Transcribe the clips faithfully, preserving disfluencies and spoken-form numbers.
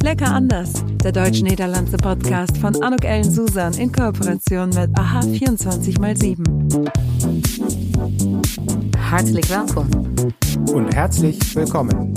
Lecker anders, der deutsch-niederlandse Podcast von Anouk Ellen Susan in Kooperation mit A H vierundzwanzig mal sieben. Hartelijk welkom. Und herzlich willkommen.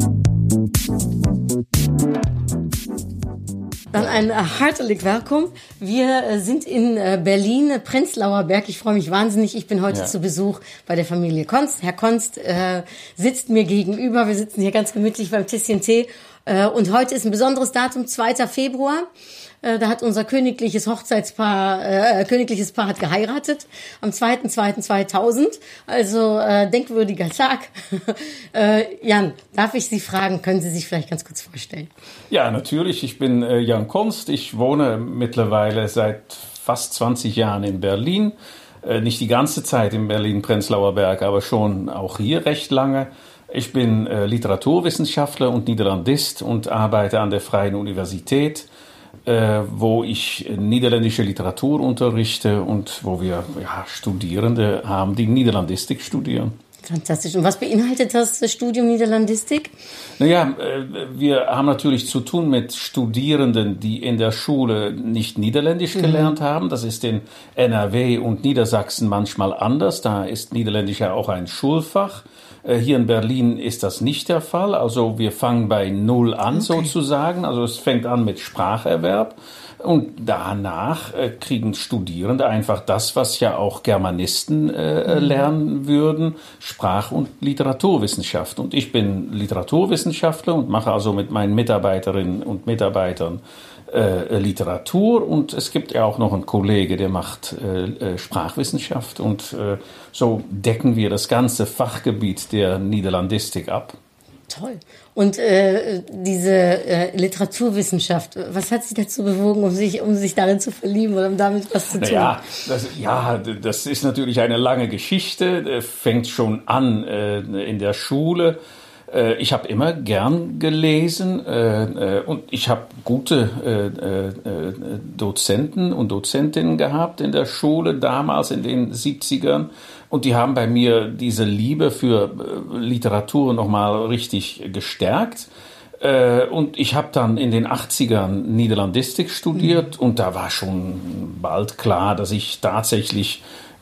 Dann ein hartelijk welkom. Wir sind in Berlin, Prenzlauer Berg. Ich freue mich wahnsinnig. Ich bin heute ja. zu Besuch bei der Familie Konst. Herr Konst äh, sitzt mir gegenüber. Wir sitzen hier ganz gemütlich beim Tässchen Tee. Äh, und heute ist ein besonderes Datum, zweiter Februar. Äh, da hat unser königliches Hochzeitspaar, äh, königliches Paar hat geheiratet am zweiter zweiter zweitausend. Also äh, denkwürdiger Tag. äh, Jan, darf ich Sie fragen, können Sie sich vielleicht ganz kurz vorstellen? Ja, natürlich. Ich bin äh, Jan Konst. Ich wohne mittlerweile seit fast zwanzig Jahren in Berlin. Äh, nicht die ganze Zeit in Berlin-Prenzlauer Berg, aber schon auch hier recht lange. Ich bin äh, Literaturwissenschaftler und Niederlandist und arbeite an der Freien Universität, äh, wo ich niederländische Literatur unterrichte und wo wir ja, Studierende haben, die Niederlandistik studieren. Fantastisch. Und was beinhaltet das Studium Niederlandistik? Naja, wir haben natürlich zu tun mit Studierenden, die in der Schule nicht Niederländisch mhm. gelernt haben. Das ist in N R W und Niedersachsen manchmal anders. Da ist Niederländisch ja auch ein Schulfach. Hier in Berlin ist das nicht der Fall. Also wir fangen bei Null an okay. sozusagen. Also es fängt an mit Spracherwerb. Und danach äh, kriegen Studierende einfach das, was ja auch Germanisten äh, lernen würden, Sprach- und Literaturwissenschaft. Und ich bin Literaturwissenschaftler und mache also mit meinen Mitarbeiterinnen und Mitarbeitern äh, Literatur. Und es gibt ja auch noch einen Kollege, der macht äh, äh, Sprachwissenschaft. Und äh, so decken wir das ganze Fachgebiet der Niederlandistik ab. Toll. Und äh, diese äh, Literaturwissenschaft, was hat Sie dazu bewogen, um sich, um sich darin zu verlieben oder um damit was zu tun? Ja, das, ja, das ist natürlich eine lange Geschichte. Fängt schon an äh, in der Schule. Äh, ich habe immer gern gelesen äh, und ich habe gute äh, äh, Dozenten und Dozentinnen gehabt in der Schule damals in den siebzigern. Und die haben bei mir diese Liebe für Literatur nochmal richtig gestärkt. Und ich habe dann in den achtzigern Niederlandistik studiert. Und da war schon bald klar, dass ich tatsächlich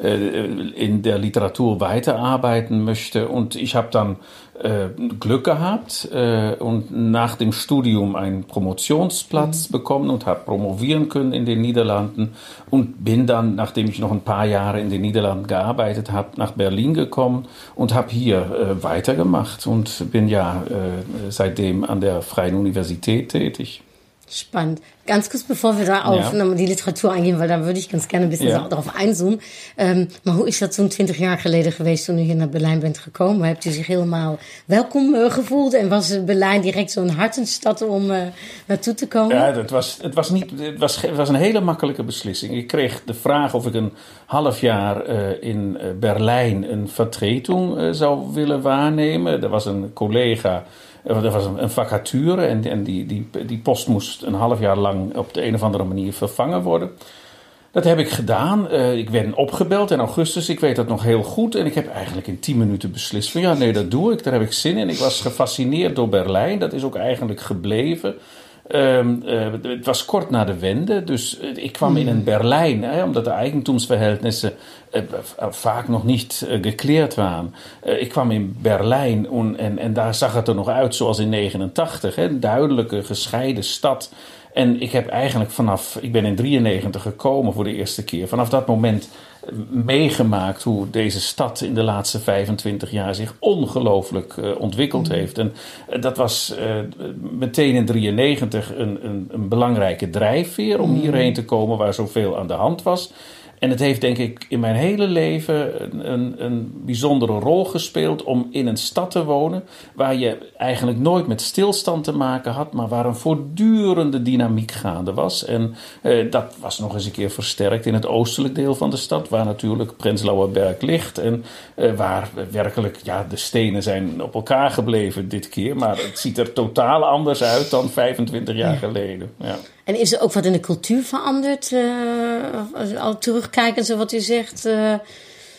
in der Literatur weiterarbeiten möchte. Und ich habe dann äh, Glück gehabt äh, und nach dem Studium einen Promotionsplatz mhm. bekommen und habe promovieren können in den Niederlanden und bin dann, nachdem ich noch ein paar Jahre in den Niederlanden gearbeitet habe, nach Berlin gekommen und habe hier äh, weitergemacht und bin ja äh, seitdem an der Freien Universität tätig. Spannend. Ganz kurz, bevor wir da auf ja. die Literatur eingehen, weil da würde ich ganz gerne ein bisschen ja. darauf einzoomen. Um, maar hoe is dat zo'n twintig jaar geleden geweest toen u hier naar Berlijn bent gekomen? Hebt u zich helemaal welkom uh, gevoeld en was Berlijn direct zo'n hartenstad om uh, naartoe te komen? Ja, het was, het was niet, het was, het was een hele makkelijke beslissing. Ik kreeg de vraag of ik een half jaar uh, in Berlijn een vertretung uh, zou willen waarnemen. Er was een collega. Er was een vacature en, en die, die, die post moest een half jaar lang op de een of andere manier vervangen worden. Dat heb ik gedaan. Uh, ik werd opgebeld in augustus. Ik weet dat nog heel goed. En ik heb eigenlijk in tien minuten beslist van ja, nee, dat doe ik. Daar heb ik zin in. Ik was gefascineerd door Berlijn. Dat is ook eigenlijk gebleven. Um, uh, het was kort na de Wende, dus uh, ik kwam in een Berlijn, hè, omdat de eigentumsverhältnisse uh, uh, vaak nog niet uh, geklärt waren. Uh, ik kwam in Berlijn en, en, en daar zag het er nog uit zoals in negenentachtig, hè, een duidelijke gescheiden stad. En ik heb eigenlijk vanaf, ik ben in drieënnegentig gekomen voor de eerste keer, vanaf dat moment meegemaakt hoe deze stad in de laatste vijfentwintig jaar zich ongelooflijk uh, ontwikkeld heeft. En uh, dat was uh, meteen in drieënnegentig een, een, een belangrijke drijfveer om hierheen te komen waar zoveel aan de hand was. En het heeft denk ik in mijn hele leven een, een, een bijzondere rol gespeeld om in een stad te wonen waar je eigenlijk nooit met stilstand te maken had, maar waar een voortdurende dynamiek gaande was. En uh, dat was nog eens een keer versterkt in het oostelijk deel van de stad, waar natuurlijk Prenzlauer Berg ligt en uh, waar werkelijk, ja, de stenen zijn op elkaar gebleven dit keer, maar het ziet er totaal anders uit dan vijfentwintig jaar geleden. Ja. En is er ook wat in de cultuur veranderd? Uh, al terugkijken, zo wat u zegt. Uh,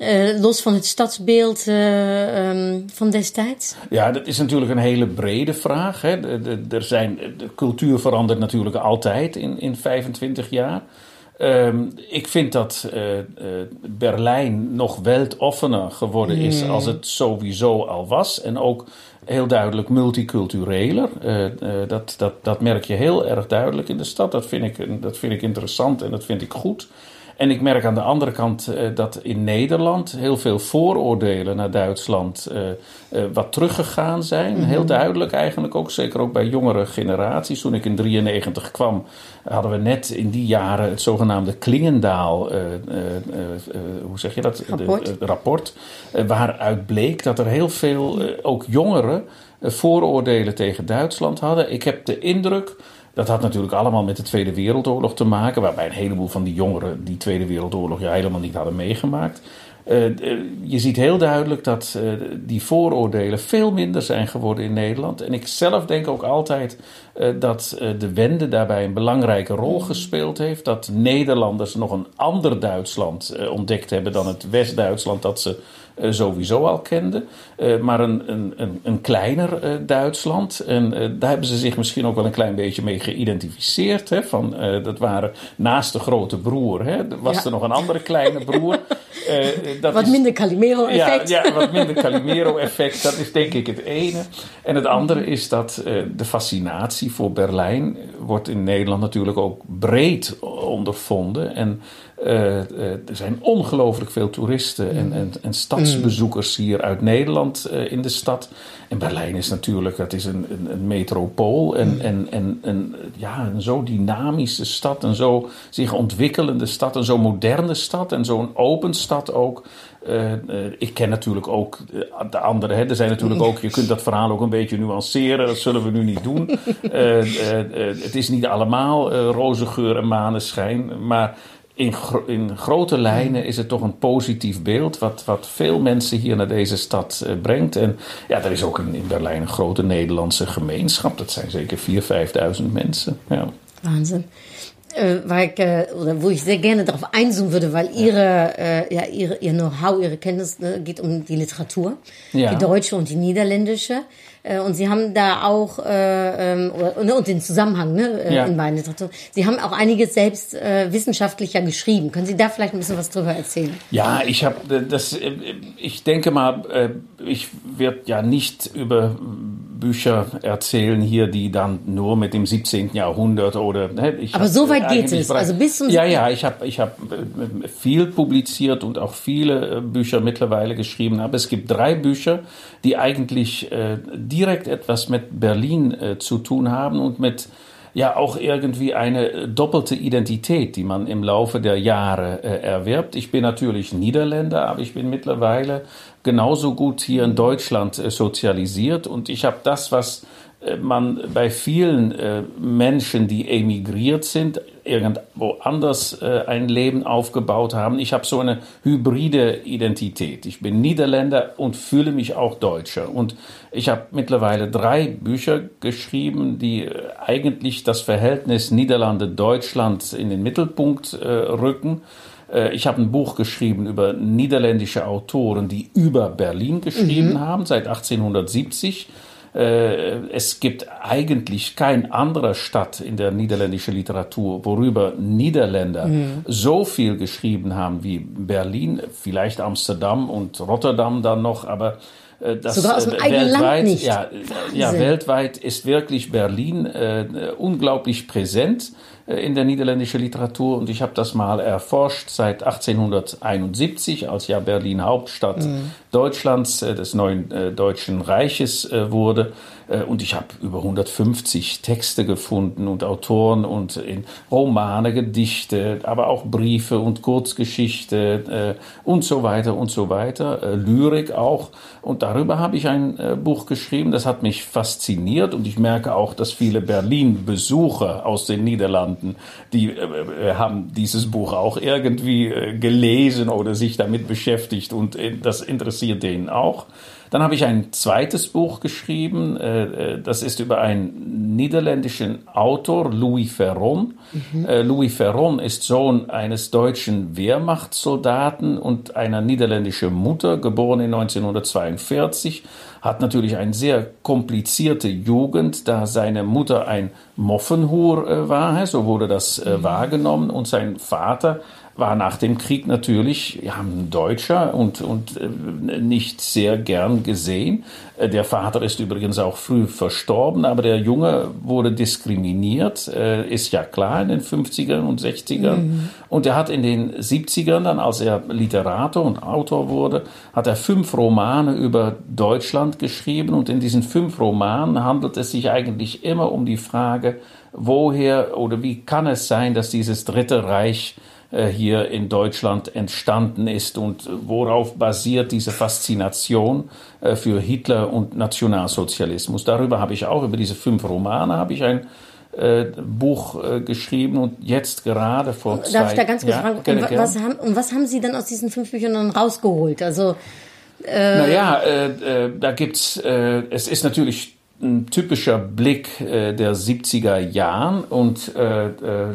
uh, los van het stadsbeeld uh, um, van destijds? Ja, dat is natuurlijk een hele brede vraag. Hè. De, de, er zijn, de cultuur verandert natuurlijk altijd in, in vijfentwintig jaar. Um, ik vind dat uh, uh, Berlijn nog weltoffener geworden is mm. als het sowieso al was. En ook heel duidelijk multicultureler. Uh, uh, dat, dat, dat merk je heel erg duidelijk in de stad. Dat vind ik, dat vind ik interessant en dat vind ik goed. En ik merk aan de andere kant uh, dat in Nederland heel veel vooroordelen naar Duitsland uh, uh, wat teruggegaan zijn. Mm-hmm. Heel duidelijk eigenlijk ook, zeker ook bij jongere generaties. Toen ik in drieënnegentig kwam, hadden we net in die jaren het zogenaamde Klingendaal, uh, uh, uh, uh, hoe zeg je dat? Rapport. De, uh, rapport uh, waaruit bleek dat er heel veel, uh, ook jongeren, uh, vooroordelen tegen Duitsland hadden. Ik heb de indruk... Dat had natuurlijk allemaal met de Tweede Wereldoorlog te maken, waarbij een heleboel van die jongeren die Tweede Wereldoorlog ja helemaal niet hadden meegemaakt. Uh, je ziet heel duidelijk dat uh, die vooroordelen veel minder zijn geworden in Nederland. En ik zelf denk ook altijd uh, dat uh, de wende daarbij een belangrijke rol gespeeld heeft. Dat Nederlanders nog een ander Duitsland uh, ontdekt hebben dan het West-Duitsland dat ze uh, sowieso al kenden. Uh, maar een, een, een, een kleiner uh, Duitsland. En uh, daar hebben ze zich misschien ook wel een klein beetje mee geïdentificeerd. Hè, van, uh, dat waren naast de grote broer. Hè, was ja. er nog een andere kleine broer. Uh, dat wat is, minder Calimero-effect. Ja, ja, wat minder Calimero-effect. Dat is denk ik het ene. En het andere is dat uh, de fascinatie voor Berlijn wordt in Nederland natuurlijk ook breed ondervonden. En uh, uh, er zijn ongelooflijk veel toeristen en, en, en stadsbezoekers hier uit Nederland uh, in de stad. En Berlijn is natuurlijk, dat is een, een, een metropool en, en, en, en ja, een zo dynamische stad, een zo zich ontwikkelende stad, een zo moderne stad en zo'n open stad ook. Uh, uh, ik ken natuurlijk ook de andere. Hè. Er zijn natuurlijk ook, je kunt dat verhaal ook een beetje nuanceren. Dat zullen we nu niet doen. Uh, uh, uh, het is niet allemaal uh, roze geur en maneschijn. Maar in, gro- in grote lijnen is het toch een positief beeld. Wat, wat veel mensen hier naar deze stad uh, brengt. En ja, er is ook in, in Berlijn een grote Nederlandse gemeenschap. Dat zijn zeker vierduizend, vijfduizend mensen. Ja. Wahnsinn. Äh, weil ich, äh, oder wo ich sehr gerne darauf einzoomen würde, weil ihre, äh, ja, ihre, ihr Know-how, ihre Kenntnis ne, geht um die Literatur, ja. Die deutsche und die niederländische. Äh, und sie haben da auch, äh, ähm, oder, und den Zusammenhang ne, äh, ja. in beiden Literaturen. Sie haben auch einiges selbst äh, wissenschaftlicher geschrieben. Können Sie da vielleicht ein bisschen was drüber erzählen? Ja, ich habe das, ich denke mal, ich werde ja nicht über Bücher erzählen hier, die dann nur mit dem siebzehnten Jahrhundert oder... Ne, ich Aber so weit geht es, also bis zum... Ja, ja, ich habe ich hab viel publiziert und auch viele Bücher mittlerweile geschrieben, aber es gibt drei Bücher, die eigentlich äh, direkt etwas mit Berlin äh, zu tun haben und mit... ja auch irgendwie eine doppelte Identität, die man im Laufe der Jahre äh, erwirbt. Ich bin natürlich Niederländer, aber ich bin mittlerweile genauso gut hier in Deutschland äh, sozialisiert und ich habe das, was äh, man bei vielen äh, Menschen, die emigriert sind, irgendwo anders äh, ein Leben aufgebaut haben. Ich habe so eine hybride Identität. Ich bin Niederländer und fühle mich auch Deutscher. Und ich habe mittlerweile drei Bücher geschrieben, die äh, eigentlich das Verhältnis Niederlande-Deutschland in den Mittelpunkt äh, rücken. Äh, ich habe ein Buch geschrieben über niederländische Autoren, die über Berlin geschrieben mhm. haben, seit achtzehnhundertsiebzig. Es gibt eigentlich kein anderer Stadt in der niederländischen Literatur, worüber Niederländer mhm. so viel geschrieben haben wie Berlin, vielleicht Amsterdam und Rotterdam dann noch, aber das sogar aus dem eigenen Land nicht. Ja, ja, weltweit ist wirklich Berlin äh, unglaublich präsent äh, in der niederländischen Literatur und ich habe das mal erforscht seit achtzehnhunderteinundsiebzig, als ja Berlin Hauptstadt mhm. Deutschlands, äh, des neuen äh, Deutschen Reiches äh, wurde. Und ich habe über hundertfünfzig Texte gefunden und Autoren und in Romane, Gedichte, aber auch Briefe und Kurzgeschichte äh, und so weiter und so weiter, äh, Lyrik auch. Und darüber habe ich ein äh, Buch geschrieben, das hat mich fasziniert und ich merke auch, dass viele Berlin-Besucher aus den Niederlanden, die äh, haben dieses Buch auch irgendwie äh, gelesen oder sich damit beschäftigt und äh, das interessiert denen auch. Dann habe ich ein zweites Buch geschrieben, äh, das ist über einen niederländischen Autor, Louis Ferron. Mhm. Äh, Louis Ferron ist Sohn eines deutschen Wehrmachtssoldaten und einer niederländischen Mutter, geboren in neunzehnhundertzweiundvierzig. Hat natürlich eine sehr komplizierte Jugend, da seine Mutter ein Moffenhuur äh, war, so wurde das äh, wahrgenommen, und sein Vater war nach dem Krieg natürlich ja, ein Deutscher und, und äh, nicht sehr gern gesehen. Äh, der Vater ist übrigens auch früh verstorben, aber der Junge wurde diskriminiert, äh, ist ja klar, in den fünfzigern und sechzigern. Mhm. Und er hat in den siebzigern dann, als er Literator und Autor wurde, hat er fünf Romane über Deutschland geschrieben. Und in diesen fünf Romanen handelt es sich eigentlich immer um die Frage, woher oder wie kann es sein, dass dieses Dritte Reich hier in Deutschland entstanden ist und worauf basiert diese Faszination für Hitler und Nationalsozialismus. Darüber habe ich auch, über diese fünf Romane habe ich ein äh, Buch äh, geschrieben und jetzt gerade vor zwei... Darf ich da ganz kurz ja, fragen, gerne, und, gerne. was haben, und was haben Sie dann aus diesen fünf Büchern dann rausgeholt? Also äh, Naja, äh, äh, da gibt's, äh, es ist natürlich ein typischer Blick äh, der siebziger Jahren und äh, äh,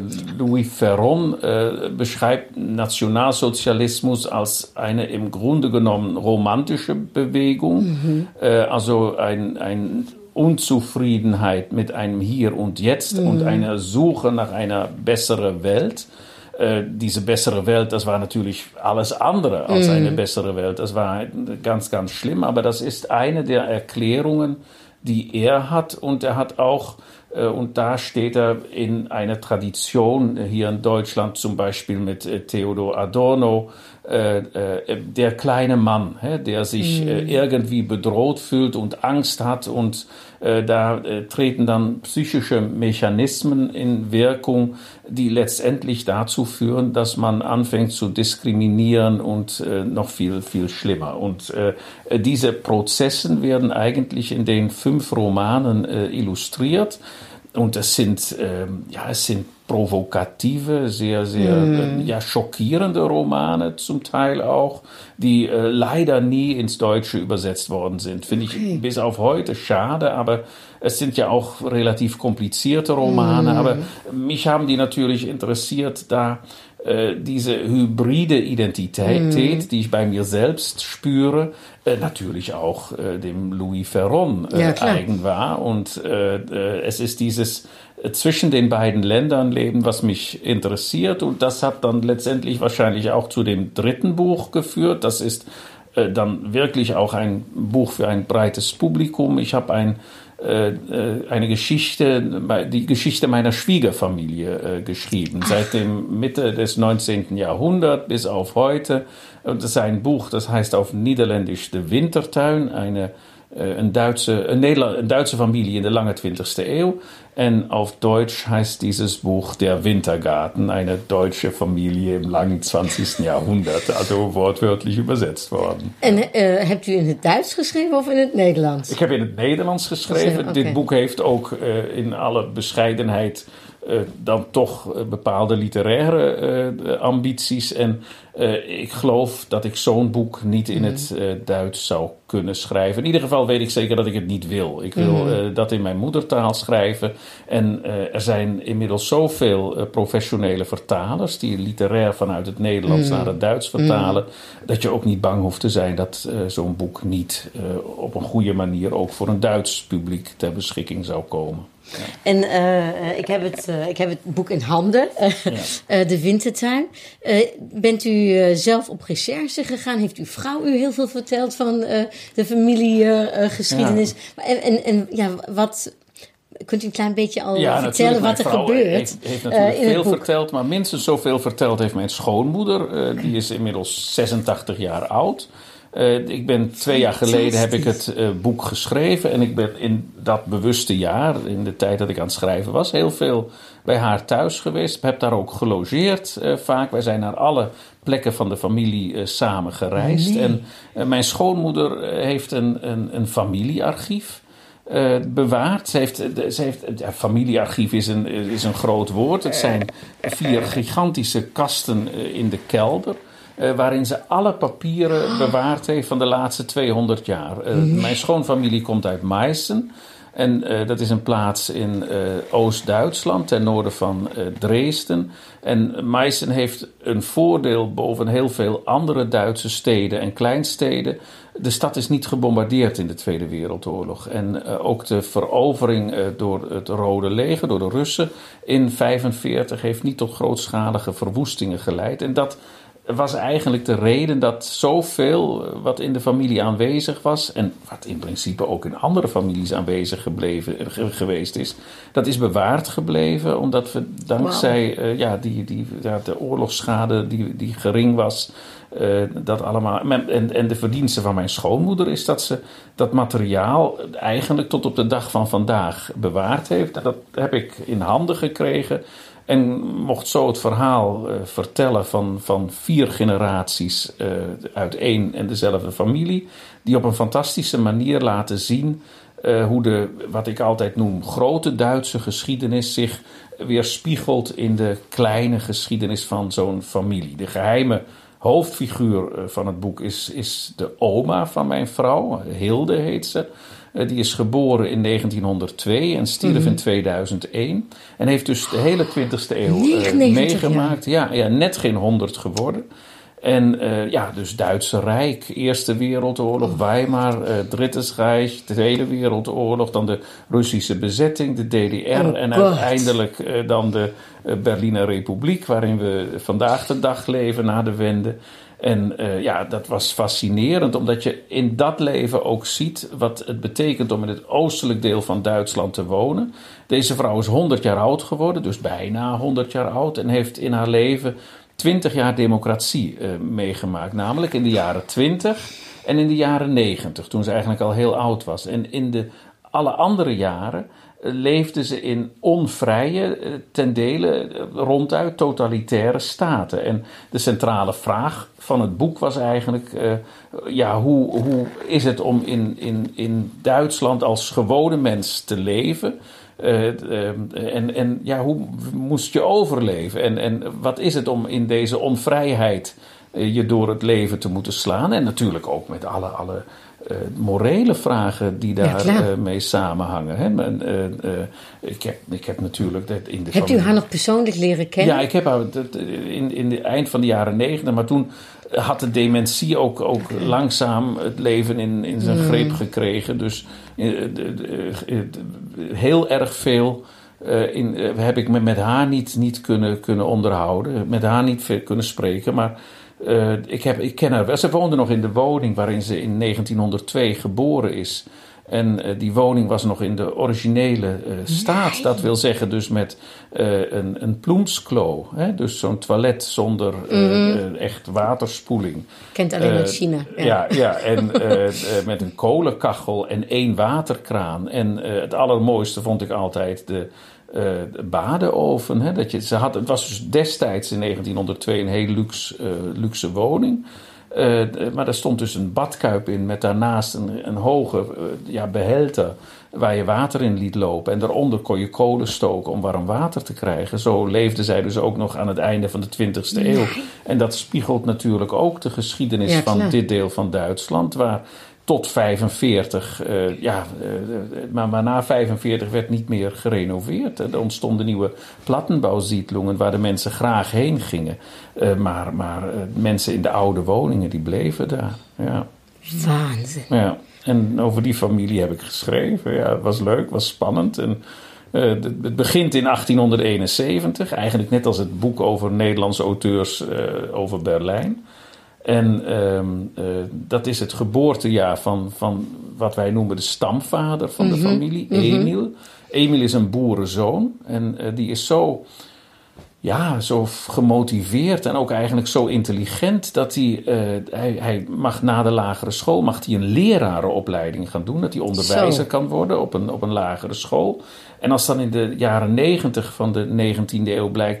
Louis Ferron äh, beschreibt Nationalsozialismus als eine im Grunde genommen romantische Bewegung, mhm. äh, also ein, ein Unzufriedenheit mit einem Hier und Jetzt mhm. und einer Suche nach einer besseren Welt. Äh, diese bessere Welt, das war natürlich alles andere als mhm. eine bessere Welt. Das war ganz, ganz schlimm, aber das ist eine der Erklärungen, die er hat, und er hat auch, äh, und da steht er in einer Tradition hier in Deutschland, zum Beispiel mit äh, Theodor Adorno, äh, äh, der kleine Mann, hä, der sich mhm. äh, irgendwie bedroht fühlt und Angst hat, und äh, da äh, treten dann psychische Mechanismen in Wirkung, die letztendlich dazu führen, dass man anfängt zu diskriminieren und äh, noch viel, viel schlimmer. Und äh, diese Prozesse werden eigentlich in den fünf Romanen äh, illustriert. Und es sind, äh, ja, es sind provokative, sehr, sehr mm. äh, ja, schockierende Romane zum Teil auch, die äh, leider nie ins Deutsche übersetzt worden sind. Finde okay. ich bis auf heute schade, aber es sind ja auch relativ komplizierte Romane. Mm. Aber mich haben die natürlich interessiert, da äh, diese hybride Identität, mm. die ich bei mir selbst spüre, äh, natürlich auch äh, dem Louis Ferron äh, ja, eigen war. Und äh, äh, es ist dieses äh, zwischen den beiden Ländern leben, was mich interessiert. Und das hat dann letztendlich wahrscheinlich auch zu dem dritten Buch geführt. Das ist äh, dann wirklich auch ein Buch für ein breites Publikum. Ich habe ein eine Geschichte, die Geschichte meiner Schwiegerfamilie äh, geschrieben, seit dem Mitte des neunzehnten Jahrhunderts bis auf heute. Und das ist ein Buch, das heißt auf Niederländisch De Wintertuin, eine Een Duitse, een, Nederland, een Duitse familie in de lange twintigste Eeuw. En auf Deutsch heißt dieses Buch Der Wintergarten, eine deutsche Familie im langen zwanzigsten Jahrhundert, also wortwörtlich übersetzt worden. En uh, hebt u in het Duits geschreven of in het Nederlands? Ik heb in het Nederlands geschreven. Okay. Dit boek heeft ook uh, in alle bescheidenheid Uh, dan toch uh, bepaalde literaire uh, ambities. En uh, ik geloof dat ik zo'n boek niet in mm-hmm. het uh, Duits zou kunnen schrijven. In ieder geval weet ik zeker dat ik het niet wil. Ik wil mm-hmm. uh, dat in mijn moedertaal schrijven. En uh, er zijn inmiddels zoveel uh, professionele vertalers die literair vanuit het Nederlands mm-hmm. naar het Duits vertalen, mm-hmm. dat je ook niet bang hoeft te zijn dat uh, zo'n boek niet uh, op een goede manier ook voor een Duits publiek ter beschikking zou komen. Ja. En uh, ik, heb het, uh, ik heb het boek in handen, uh, ja. uh, De Wintertuin. Uh, bent u uh, zelf op recherche gegaan? Heeft uw vrouw u heel veel verteld van uh, de familiegeschiedenis? Uh, ja. En, en, en ja, wat... Kunt u een klein beetje al ja, vertellen wat er gebeurt? Heeft, heeft natuurlijk uh, veel verteld, maar minstens zoveel verteld heeft mijn schoonmoeder. Uh, die is inmiddels zesentachtig jaar oud. Uh, ik ben twee jaar geleden heb ik het uh, boek geschreven. En ik ben in dat bewuste jaar, in de tijd dat ik aan het schrijven was, heel veel bij haar thuis geweest. Ik heb daar ook gelogeerd uh, vaak. Wij zijn naar alle plekken van de familie uh, samen gereisd. Nee. En uh, mijn schoonmoeder uh, heeft een, een, een familiearchief Uh, bewaard. Ze heeft, ze heeft, ja, familiearchief is een, is een groot woord. Het zijn vier gigantische kasten uh, in de kelder. Uh, waarin ze alle papieren bewaard heeft van de laatste tweehonderd jaar. Uh, nee. Mijn schoonfamilie komt uit Meissen. En uh, dat is een plaats in uh, Oost-Duitsland, ten noorden van uh, Dresden. En Meissen heeft een voordeel boven heel veel andere Duitse steden en kleinsteden. De stad is niet gebombardeerd in de Tweede Wereldoorlog. En uh, ook de verovering uh, door het Rode Leger, door de Russen in negentien vijfenveertig... heeft niet tot grootschalige verwoestingen geleid. En dat was eigenlijk de reden dat zoveel wat in de familie aanwezig was, en wat in principe ook in andere families aanwezig gebleven, geweest is, dat is bewaard gebleven, omdat we dankzij wow. uh, ja, die, die, ja, de oorlogsschade die, die gering was, uh, dat allemaal. En, en de verdienste van mijn schoonmoeder is dat ze dat materiaal eigenlijk tot op de dag van vandaag bewaard heeft. Dat heb ik in handen gekregen. En mocht zo het verhaal uh, vertellen van, van vier generaties uh, uit één en dezelfde familie. Die op een fantastische manier laten zien uh, hoe de, wat ik altijd noem, grote Duitse geschiedenis zich weer spiegelt in de kleine geschiedenis van zo'n familie. De geheime hoofdfiguur uh, van het boek is, is de oma van mijn vrouw, Hilde heet ze. Uh, die is geboren in negentienhonderdtwee en stierf mm-hmm. in tweeduizend één. En heeft dus de hele twintigste eeuw uh, meegemaakt. Ja, ja, net geen honderd geworden. En uh, ja, dus Duitse Rijk, Eerste Wereldoorlog, Weimar, uh, Drittes Reich, Tweede Wereldoorlog, dan de Russische bezetting, de D D R oh, en God. uiteindelijk uh, dan de uh, Berliner Republiek, waarin we vandaag de dag leven na de Wende. En uh, ja, dat was fascinerend, omdat je in dat leven ook ziet wat het betekent om in het oostelijk deel van Duitsland te wonen. Deze vrouw is honderd jaar oud geworden, dus bijna honderd jaar oud, en heeft in haar leven twintig jaar democratie uh, meegemaakt. Namelijk in de jaren twintig en in de jaren negentig, toen ze eigenlijk al heel oud was. En in de alle andere jaren uh, leefde ze in onvrije, uh, ten dele uh, ronduit totalitaire staten. En de centrale vraag van het boek was eigenlijk, uh, ja, hoe, hoe is het om in, in, in Duitsland als gewone mens te leven? Uh, uh, en, en ja, hoe moest je overleven? En, en wat is het om in deze onvrijheid uh, je door het leven te moeten slaan? En natuurlijk ook met alle, alle uh, morele vragen die daar ja, uh, mee samenhangen. Hè? En, uh, uh, ik, heb, ik heb natuurlijk... Dat in de Hebt familie... u haar nog persoonlijk leren kennen? Ja, ik heb haar in, in het eind van de jaren negentig, maar toen had de dementie ook, ook okay. langzaam het leven in, in zijn mm. greep gekregen. Dus uh, de, de, de, heel erg veel uh, in, uh, heb ik me met haar niet, niet kunnen, kunnen onderhouden. Met haar niet veel kunnen spreken. Maar uh, ik, heb, ik ken haar wel. Ze woonde nog in de woning waarin ze in negentienhonderdtwee geboren is. En uh, die woning was nog in de originele uh, staat. Nee. Dat wil zeggen dus met uh, een, een ploemsklo. Hè? Dus zo'n toilet zonder uh, mm-hmm. uh, echt waterspoeling. Kent alleen uit uh, China. Ja, ja, ja en uh, uh, met een kolenkachel en één waterkraan. En uh, het allermooiste vond ik altijd de, uh, de badenoven. Hè? Dat je, ze had, het was dus destijds in negentienhonderdtwee een heel luxe, uh, luxe woning. Uh, maar er stond dus een badkuip in met daarnaast een, een hoge uh, ja, behelter waar je water in liet lopen. En daaronder kon je kolen stoken om warm water te krijgen. Zo leefde zij dus ook nog aan het einde van de twintigste eeuw. En dat spiegelt natuurlijk ook de geschiedenis ja, van dit deel van Duitsland, waar tot vijfenveertig, uh, ja, uh, maar, maar na vijfenveertig werd niet meer gerenoveerd. Er ontstonden nieuwe plattenbouwsiedlungen waar de mensen graag heen gingen. Uh, maar maar uh, mensen in de oude woningen, die bleven daar. Ja. Waanzin. Ja. En over die familie heb ik geschreven. Ja, het was leuk, het was spannend. En uh, het begint in achttienhonderdeenenzeventig, eigenlijk net als het boek over Nederlandse auteurs uh, over Berlijn. En um, uh, dat is het geboortejaar van, van wat wij noemen de stamvader van mm-hmm. de familie, Emil. Mm-hmm. Emil is een boerenzoon en uh, die is zo, ja, zo gemotiveerd en ook eigenlijk zo intelligent dat hij, uh, hij, hij mag na de lagere school mag hij een lerarenopleiding gaan doen. Dat hij onderwijzer zo. kan worden op een, op een lagere school. En als dan in de jaren negentig van de negentiende eeuw blijkt dat hij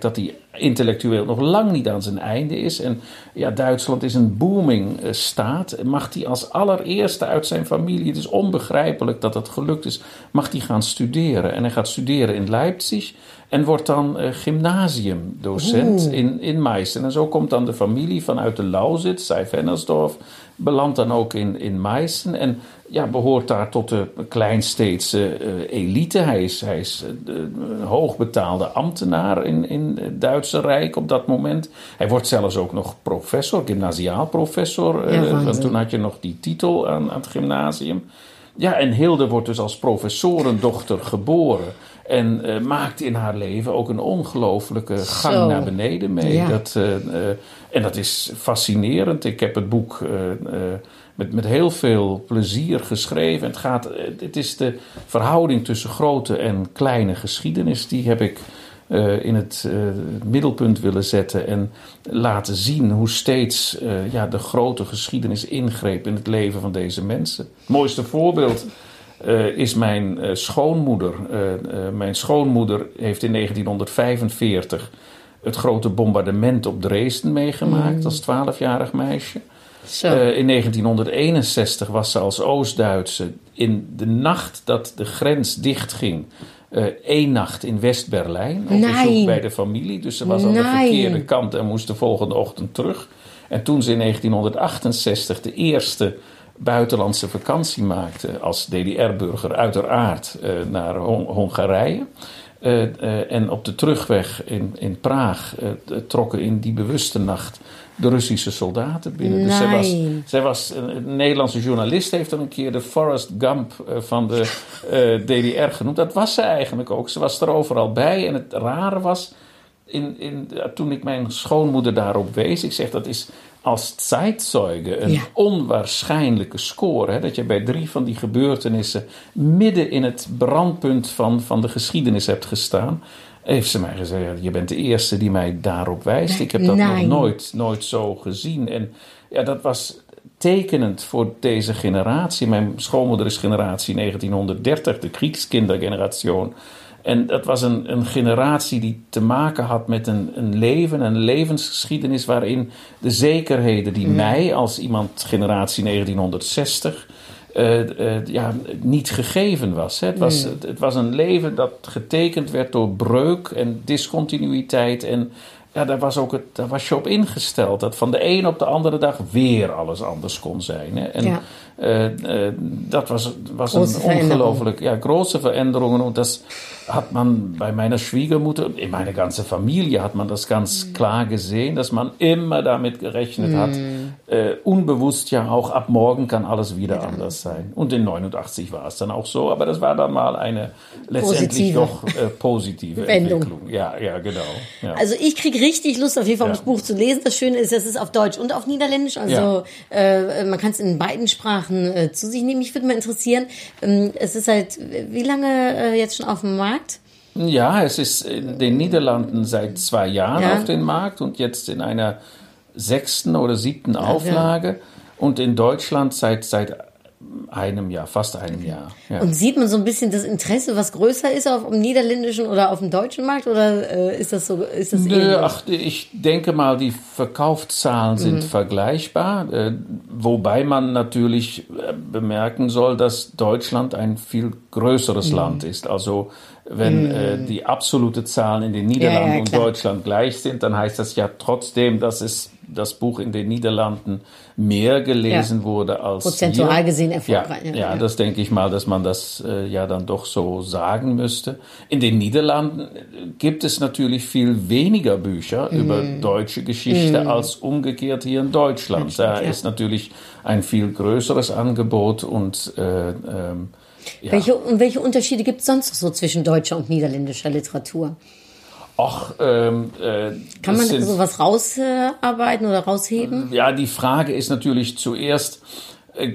intellectueel nog lang niet aan zijn einde is. En ja, Duitsland is een booming uh, staat. Mag hij als allereerste uit zijn familie, het is onbegrijpelijk dat het gelukt is, mag hij gaan studeren. En hij gaat studeren in Leipzig en wordt dan uh, gymnasiumdocent in, in Meissen. En zo komt dan de familie vanuit de Lausitz, Seyfennersdorf, belandt dan ook in, in Meissen en ja, behoort daar tot de kleinsteedse uh, elite. Hij is, hij is uh, een hoogbetaalde ambtenaar in, in het Duitse Rijk op dat moment. Hij wordt zelfs ook nog professor, gymnasiaal professor. Uh, ja, want toen had je nog die titel aan, aan het gymnasium. Ja, en Hilde wordt dus als professorendochter geboren. En uh, maakt in haar leven ook een ongelooflijke gang Zo. naar beneden mee. Ja. Dat, uh, uh, en dat is fascinerend. Ik heb het boek uh, uh, met, met heel veel plezier geschreven. Het, gaat, uh, het is de verhouding tussen grote en kleine geschiedenis. Die heb ik uh, in het uh, middelpunt willen zetten. En laten zien hoe steeds uh, ja, de grote geschiedenis ingreep in het leven van deze mensen. Het mooiste voorbeeld Uh, is mijn uh, schoonmoeder. Uh, uh, mijn schoonmoeder heeft in negentien vijfenveertig het grote bombardement op Dresden meegemaakt mm. als twaalfjarig meisje. Uh, in negentien eenenzestig was ze als Oost-Duitse in de nacht dat de grens dichtging, uh, één nacht in West-Berlijn op bezoek bij de familie. Dus ze was aan de verkeerde kant en moest de volgende ochtend terug. En toen ze in negentien achtenzestig de eerste buitenlandse vakantie maakte als D D R-burger uiteraard uh, naar Hon- Hongarije. Uh, uh, en op de terugweg in, in Praag uh, trokken in die bewuste nacht de Russische soldaten binnen. Nee. Dus zij was, zij was een, een Nederlandse journalist, heeft dan een keer de Forrest Gump uh, van de uh, D D R genoemd. Dat was ze eigenlijk ook. Ze was er overal bij. En het rare was, in, in, toen ik mijn schoonmoeder daarop wees, ik zeg dat is als zeitzeuge een ja. onwaarschijnlijke score. Hè, dat je bij drie van die gebeurtenissen midden in het brandpunt van, van de geschiedenis hebt gestaan. Heeft ze mij gezegd, je bent de eerste die mij daarop wijst. Ik heb dat nee. nog nooit, nooit zo gezien. En ja, dat was tekenend voor deze generatie. Mijn schoonmoeder is generatie negentienhonderddertig, de Kriegskindergeneratie. En dat was een, een generatie die te maken had met een, een leven, een levensgeschiedenis waarin de zekerheden die mm. mij als iemand generatie negentienhonderdzestig uh, uh, ja, niet gegeven was. Hè. Het, was mm. het, het was een leven dat getekend werd door breuk en discontinuïteit en ja, daar was, ook het, daar was je op ingesteld. Dat van de een op de andere dag weer alles anders kon zijn. Hè. En ja. uh, uh, dat was, was een ongelooflijk ja, große Veränderungen. Und das hat man bei meiner Schwiegermutter, in meiner ganzen Familie hat man das ganz mm. klar gesehen, dass man immer damit gerechnet mm. hat. Uh, unbewusst ja auch, ab morgen kann alles wieder ja. anders sein. Und in neunundachtzig war es dann auch so. Aber das war dann mal eine letztendlich positive. doch uh, positive Entwicklung. Ja, ja, genau. Ja. Also ich kriege richtig Lust, auf jeden Fall, um ja. das Buch zu lesen. Das Schöne ist, es ist auf Deutsch und auf Niederländisch. Also ja. äh, man kann es in beiden Sprachen äh, zu sich nehmen. Mich würde mal interessieren, ähm, es ist halt, wie lange äh, jetzt schon auf dem Markt? Ja, es ist in den Niederlanden seit zwei Jahren ja. auf dem Markt und jetzt in einer sechsten oder siebten ja, Auflage ja. und in Deutschland seit, seit einem Jahr, fast einem Jahr. Ja. Und sieht man so ein bisschen das Interesse, was größer ist auf dem niederländischen oder auf dem deutschen Markt, oder äh, ist das so? Ist das Nö, ach, ich denke mal, die Verkaufszahlen sind mhm. vergleichbar, äh, wobei man natürlich äh, bemerken soll, dass Deutschland ein viel größeres mhm. Land ist. Also wenn mhm. äh, die absolute Zahlen in den Niederlanden ja, ja, und Deutschland gleich sind, dann heißt das ja trotzdem, dass es das Buch in den Niederlanden mehr gelesen ja. wurde als prozentual hier. gesehen erfolgreich. Ja, ja, ja, das denke ich mal, dass man das äh, ja dann doch so sagen müsste. In den Niederlanden gibt es natürlich viel weniger Bücher mm. über deutsche Geschichte mm. als umgekehrt hier in Deutschland. Da ja. ist natürlich ein viel größeres Angebot und äh, ähm, ja. Welche, und welche Unterschiede gibt es sonst so zwischen deutscher und niederländischer Literatur? Ach, ähm, äh, Kann man sind, sowas rausarbeiten oder rausheben? Ja, die Frage ist natürlich zuerst, äh,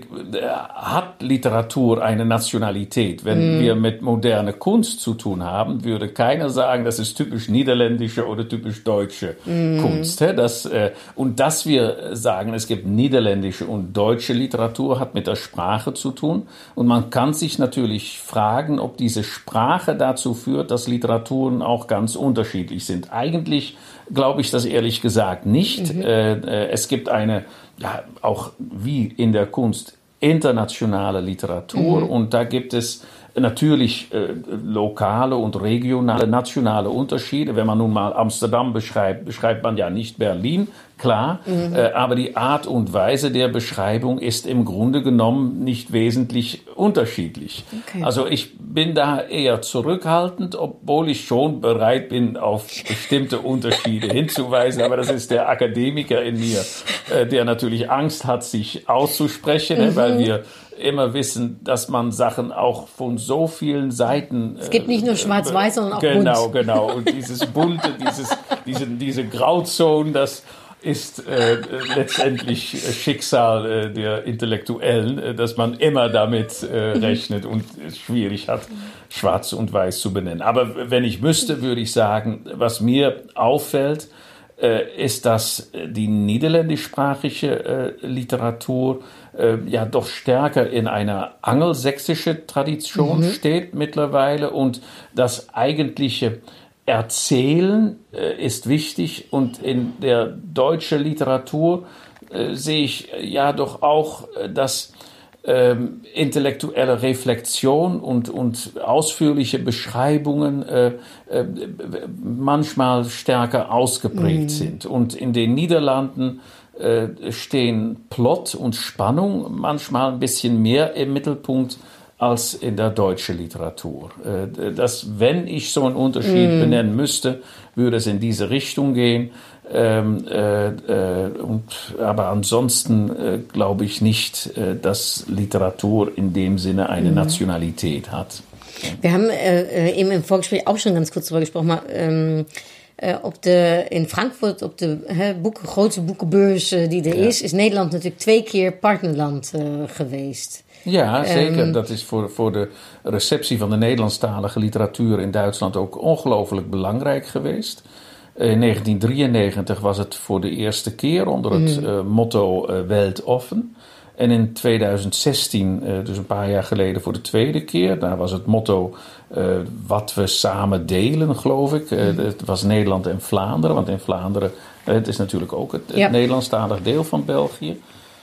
hat Literatur eine Nationalität. Wenn mm. wir mit moderner Kunst zu tun haben, würde keiner sagen, das ist typisch niederländische oder typisch deutsche mm. Kunst. Das, äh, und dass wir sagen, es gibt niederländische und deutsche Literatur, hat mit der Sprache zu tun. Und man kann sich natürlich fragen, ob diese Sprache dazu führt, dass Literaturen auch ganz unterschiedlich sind. Eigentlich glaube ich das ehrlich gesagt nicht. Mhm. Äh, es gibt eine, ja, auch wie in der Kunst, internationale Literatur mhm. und da gibt es natürlich äh, lokale und regionale, nationale Unterschiede. Wenn man nun mal Amsterdam beschreibt, beschreibt man ja nicht Berlin, klar. Mhm. Äh, aber die Art und Weise der Beschreibung ist im Grunde genommen nicht wesentlich unterschiedlich. Okay. Also ich bin da eher zurückhaltend, obwohl ich schon bereit bin, auf bestimmte Unterschiede hinzuweisen. Aber das ist der Akademiker in mir, äh, der natürlich Angst hat, sich auszusprechen, mhm. weil wir immer wissen, dass man Sachen auch von so vielen Seiten... Es gibt nicht nur schwarz-weiß, sondern auch genau, bunt. Genau, genau. Und dieses Bunte, dieses, diese, diese Grauzone, das ist äh, letztendlich Schicksal äh, der Intellektuellen, äh, dass man immer damit äh, rechnet und es schwierig hat, schwarz und weiß zu benennen. Aber wenn ich müsste, würde ich sagen, was mir auffällt, äh, ist, dass die niederländischsprachige äh, Literatur äh, ja doch stärker in einer angelsächsischen Tradition mhm. steht mittlerweile und das eigentliche Erzählen äh, ist wichtig und in der deutschen Literatur äh, sehe ich äh, ja doch auch, äh, dass ähm, intellektuelle Reflexion und, und ausführliche Beschreibungen äh, äh, manchmal stärker ausgeprägt mhm. sind. Und in den Niederlanden äh, stehen Plot und Spannung manchmal ein bisschen mehr im Mittelpunkt als in der deutschen Literatur. Äh, das, wenn ich so einen Unterschied mm. benennen müsste, würde es in diese Richtung gehen. Ähm, äh, äh, und, aber ansonsten äh, glaube ich nicht, äh, dass Literatur in dem Sinne eine mm. Nationalität hat. Wir haben äh, eben im Vorgespräch auch schon ganz kurz darüber gesprochen, mal, ähm, Uh, op de, in Frankfurt, op de he, boeken, grootste boekenbeurs uh, die er ja. is, is Nederland natuurlijk twee keer partnerland uh, geweest. Ja, zeker. Um, dat is voor, voor de receptie van de Nederlandstalige literatuur in Duitsland ook ongelooflijk belangrijk geweest. In negentien drieënnegentig was het voor de eerste keer onder het mm. uh, motto uh, Weltoffen. En in tweeduizend zestien, uh, dus een paar jaar geleden, voor de tweede keer. Daar was het motto uh, wat we samen delen, geloof ik. Uh, mm. Het was Nederland en Vlaanderen. Want in Vlaanderen, uh, het is natuurlijk ook het, het ja. Nederlandstalig deel van België.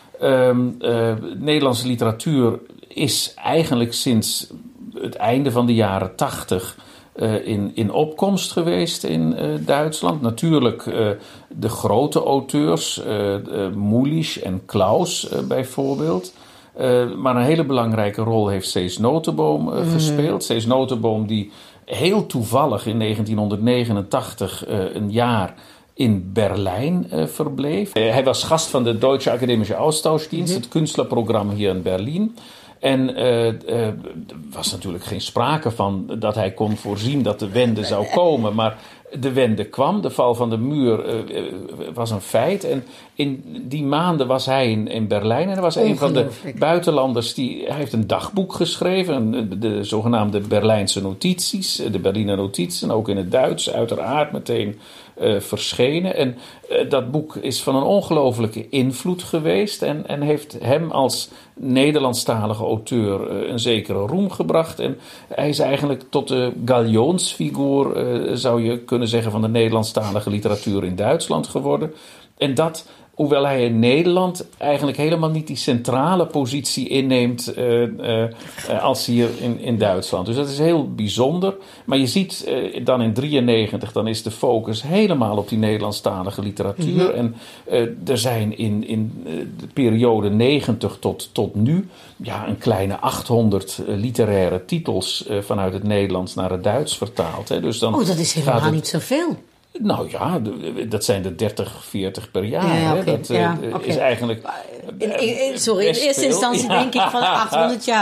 Um, uh, Nederlandse literatuur is eigenlijk sinds het einde van de jaren tachtig... Uh, in, in opkomst geweest in uh, Duitsland. Natuurlijk uh, de grote auteurs, uh, uh, Mulisch en Klaus uh, bijvoorbeeld. Uh, maar een hele belangrijke rol heeft Cees Notenboom uh, mm. gespeeld. Cees Notenboom die heel toevallig in negentien negenentachtig uh, een jaar in Berlijn uh, verbleef. Uh, hij was gast van de Deutsche Akademische Austauschdienst, mm-hmm. het kunstlerprogramma hier in Berlijn. En er uh, uh, was natuurlijk geen sprake van dat hij kon voorzien dat de wende zou komen. Maar de wende kwam, de val van de muur uh, uh, was een feit. En in die maanden was hij in, in Berlijn. En hij was een van de buitenlanders die... Hij heeft een dagboek geschreven, de, de zogenaamde Berlijnse notities. De Berliner notities, ook in het Duits, uiteraard meteen uh, verschenen. En uh, dat boek is van een ongelooflijke invloed geweest. En, en heeft hem als Nederlandstalige auteur uh, een zekere roem gebracht. En hij is eigenlijk tot de Galionsfiguur, uh, zou je kunnen zeggen, van de Nederlandstalige literatuur in Duitsland geworden. En dat, hoewel hij in Nederland eigenlijk helemaal niet die centrale positie inneemt uh, uh, als hier in, in Duitsland. Dus dat is heel bijzonder. Maar je ziet uh, dan in drieënnegentig, dan is de focus helemaal op die Nederlandstalige literatuur. Mm-hmm. En uh, er zijn in, in de periode negentig tot, tot nu ja, een kleine achthonderd uh, literaire titels uh, vanuit het Nederlands naar het Duits vertaald. Hè. Dus dan oh, dat is helemaal het, niet zoveel. Nou ja, dat zijn er dertig, veertig per jaar. Ja, okay. Dat ja, uh, okay. is eigenlijk... In, in, sorry, in eerste veel. instantie ja. denk ik van achthonderd jaar.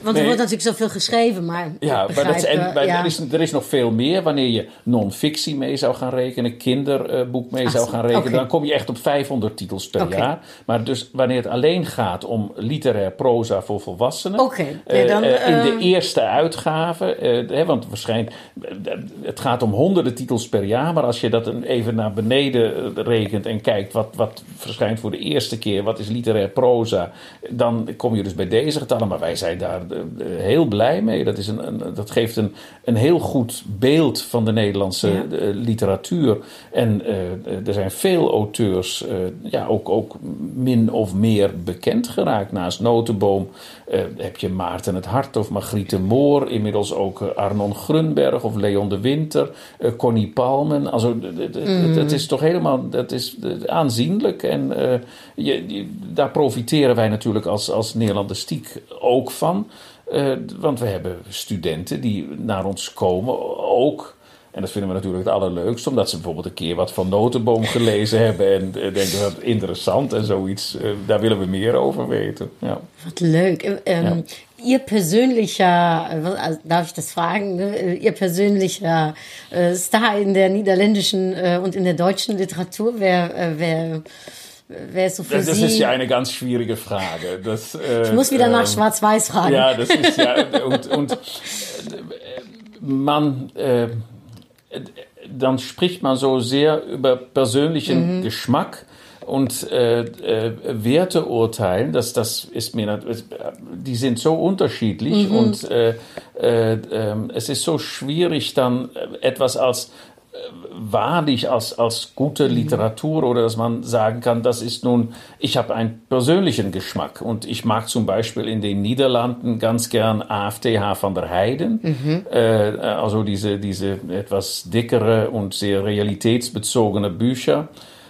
Want er nee. wordt natuurlijk zoveel geschreven, maar Ja, begrijp, maar, dat is, en, maar ja. er, is, er is nog veel meer. Wanneer je non-fictie mee zou gaan rekenen, kinderboek mee Ach, zou gaan rekenen, okay. dan kom je echt op vijfhonderd titels per Okay. jaar. Maar dus wanneer het alleen gaat om literair proza voor volwassenen, Okay. Nee, dan, uh, in uh, de eerste uitgave, uh, hè, want waarschijnlijk, het gaat om honderden titels per jaar, maar als je dat even naar beneden rekent en kijkt wat, wat verschijnt voor de eerste keer, wat is literair proza, dan kom je dus bij deze getallen. Maar wij zijn daar uh, heel blij mee. Dat, is een, een, dat geeft een, een heel goed beeld van de Nederlandse ja. uh, literatuur. En uh, er zijn veel auteurs uh, ja, ook, ook min of meer bekend geraakt. Naast Notenboom uh, heb je Maarten het Hart of Margriete Moor. Inmiddels ook uh, Arnon Grunberg of Leon de Winter. Uh, Connie Palmen. Also, mm. Het is toch helemaal dat is, uh, aanzienlijk. En uh, je, je, daar profiteren wij natuurlijk als, als Nederlandistiek ook van. Uh, want we hebben studenten die naar ons komen ook. En dat vinden we natuurlijk het allerleukst. Omdat ze bijvoorbeeld een keer wat van Notenboom gelezen hebben. En uh, denken dat interessant en zoiets. Uh, daar willen we meer over weten. Ja. Wat leuk. Um, ja. Ihr persönlicher, darf ich das fragen, Ihr persönlicher äh, Star in der niederländischen äh, und in der deutschen Literatur, wer, äh, wer, wer ist so für das, das Sie? Das ist ja eine ganz schwierige Frage. Das, äh, ich muss wieder äh, nach Schwarz-Weiß fragen. Ja, das ist ja, und, und man, äh, dann spricht man so sehr über persönlichen mhm. Geschmack. Und äh, äh, Werte urteilen, das, das ist mir, die sind so unterschiedlich mhm. und äh, äh, äh, es ist so schwierig, dann etwas als äh, wahrlich als, als gute Literatur oder dass man sagen kann, das ist nun, ich habe einen persönlichen Geschmack und ich mag zum Beispiel in den Niederlanden ganz gern A F T H van der Heijden, mhm. äh, also diese, diese etwas dickere und sehr realitätsbezogene Bücher.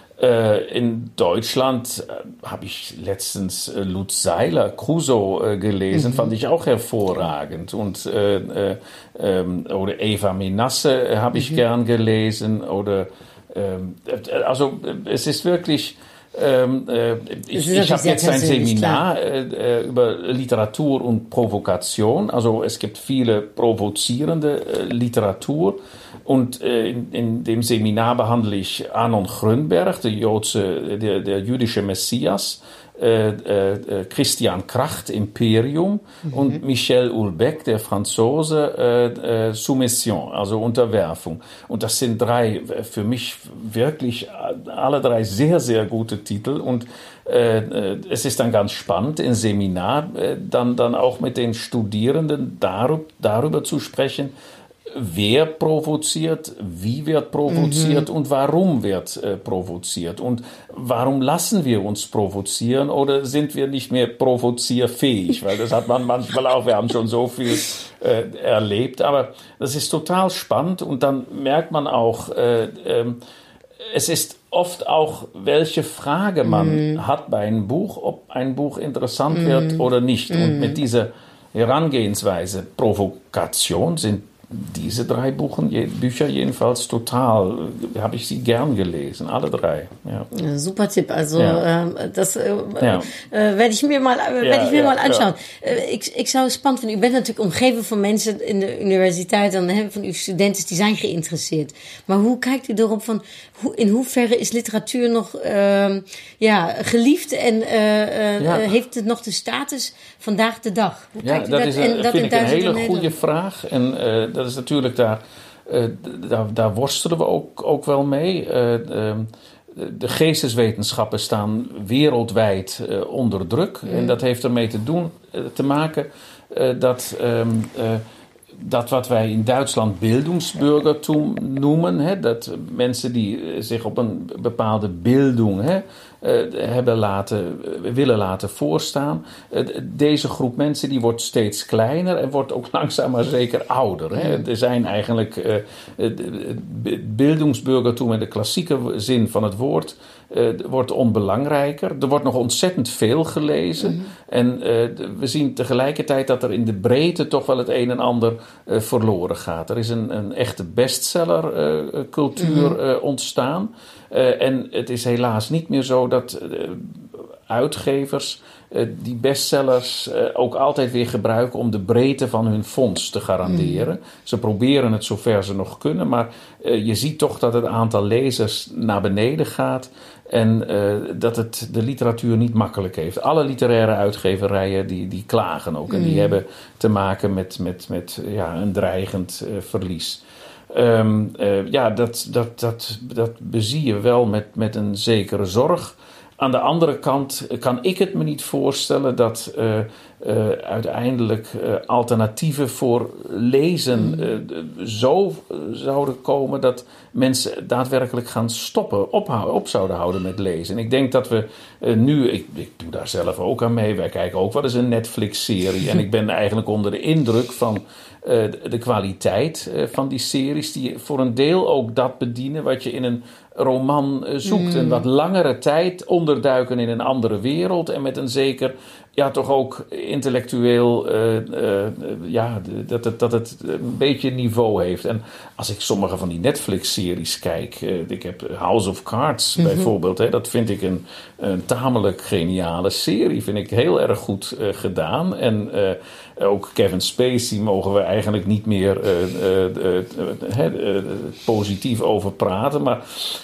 In Deutschland äh, habe ich letztens äh, Lutz Seiler, Crusoe, äh, gelesen, mhm. fand ich auch hervorragend. Und, äh, äh, äh, oder Eva Menasse äh, habe ich mhm. gern gelesen. Oder, äh, also es ist wirklich... Ähm, äh, ich ich habe jetzt ein Seminar äh, über Literatur und Provokation. Also es gibt viele provozierende äh, Literatur. Und äh, in, in dem Seminar behandle ich Arnon Grunberg, der, Joodse, der, der jüdische Messias, äh, äh, Christian Kracht, Imperium, mhm. und Michel Houellebecq, der Franzose, äh, äh, Soumission, also Unterwerfung. Und das sind drei, für mich wirklich alle drei sehr, sehr gute Titel. Und äh, es ist dann ganz spannend, im Seminar äh, dann, dann auch mit den Studierenden darüber, darüber zu sprechen, wer provoziert, wie wird provoziert mhm. und warum wird äh, provoziert und warum lassen wir uns provozieren oder sind wir nicht mehr provozierfähig, weil das hat man manchmal auch, wir haben schon so viel äh, erlebt, aber das ist total spannend und dann merkt man auch, äh, äh, es ist oft auch, welche Frage man mhm. hat bei einem Buch, ob ein Buch interessant mhm. wird oder nicht mhm. und mit dieser Herangehensweise Provokation sind diese drei Buchen, Bücher jedenfalls total, habe ich sie gern gelesen, alle drei. Ja. Ja, super Tipp, also ja. uh, das uh, ja. uh, werde ik me maar, uh, ja, ik me ja, maar anschauen. Ja. Uh, ik, ik zou het spannend vinden, u bent natuurlijk omgeven van mensen in de universiteit, dan, hè, van uw studenten, die zijn geïnteresseerd. Maar hoe kijkt u erop van, hoe, in hoeverre is literatuur nog uh, ja, geliefd en uh, uh, ja. uh, heeft het nog de status vandaag de dag? Hoe ja, kijkt u dat, dat? is een, en dat vind in ik een hele goede goede vraag en uh, dat is natuurlijk daar, uh, daar, daar worstelen we ook, ook wel mee. Uh, uh, de geesteswetenschappen staan wereldwijd uh, onder druk. Mm. En dat heeft ermee te, doen, uh, te maken uh, dat, um, uh, dat wat wij in Duitsland Bildungsbürgertum noemen. Hè, dat mensen die zich op een bepaalde bildung hè, uh, hebben laten, willen laten voorstaan. Uh, deze groep mensen die wordt steeds kleiner en wordt ook langzaam maar zeker ouder. Hè. Er zijn eigenlijk uh, uh, Bildungsbürgertum in de klassieke zin van het woord uh, wordt onbelangrijker. Er wordt nog ontzettend veel gelezen. Mm-hmm. En uh, we zien tegelijkertijd dat er in de breedte toch wel het een en ander uh, verloren gaat. Er is een, een echte bestseller uh, cultuur uh, ontstaan. Uh, en het is helaas niet meer zo dat uh, uitgevers uh, die bestsellers uh, ook altijd weer gebruiken om de breedte van hun fonds te garanderen. Mm. Ze proberen het zover ze nog kunnen, maar uh, je ziet toch dat het aantal lezers naar beneden gaat en uh, dat het de literatuur niet makkelijk heeft. Alle literaire uitgeverijen die, die klagen ook mm. en die hebben te maken met, met, met ja, een dreigend uh, verlies. Um, uh, ja, dat, dat, dat, dat bezie je wel met, met een zekere zorg. Aan de andere kant kan ik het me niet voorstellen dat uh, uh, uiteindelijk uh, alternatieven voor lezen uh, zo uh, zouden komen dat mensen daadwerkelijk gaan stoppen, ophouden, op zouden houden met lezen. En ik denk dat we uh, nu, ik, ik doe daar zelf ook aan mee, wij kijken ook wel eens een Netflix-serie en ik ben eigenlijk onder de indruk van Uh, de kwaliteit uh, van die series die voor een deel ook dat bedienen wat je in een roman uh, zoekt. Mm. Een wat langere tijd onderduiken in een andere wereld en met een zeker, ja toch ook intellectueel, uh, uh, ja, dat het, dat het een beetje niveau heeft. En als ik sommige van die Netflix-series kijk, uh, ik heb House of Cards mm-hmm. bijvoorbeeld, hè, dat vind ik een, een tamelijk geniale serie, vind ik heel erg goed uh, gedaan. En uh, ook Kevin Spacey mogen we eigenlijk niet meer uh, uh, uh, uh, uh, uh, positief over praten, maar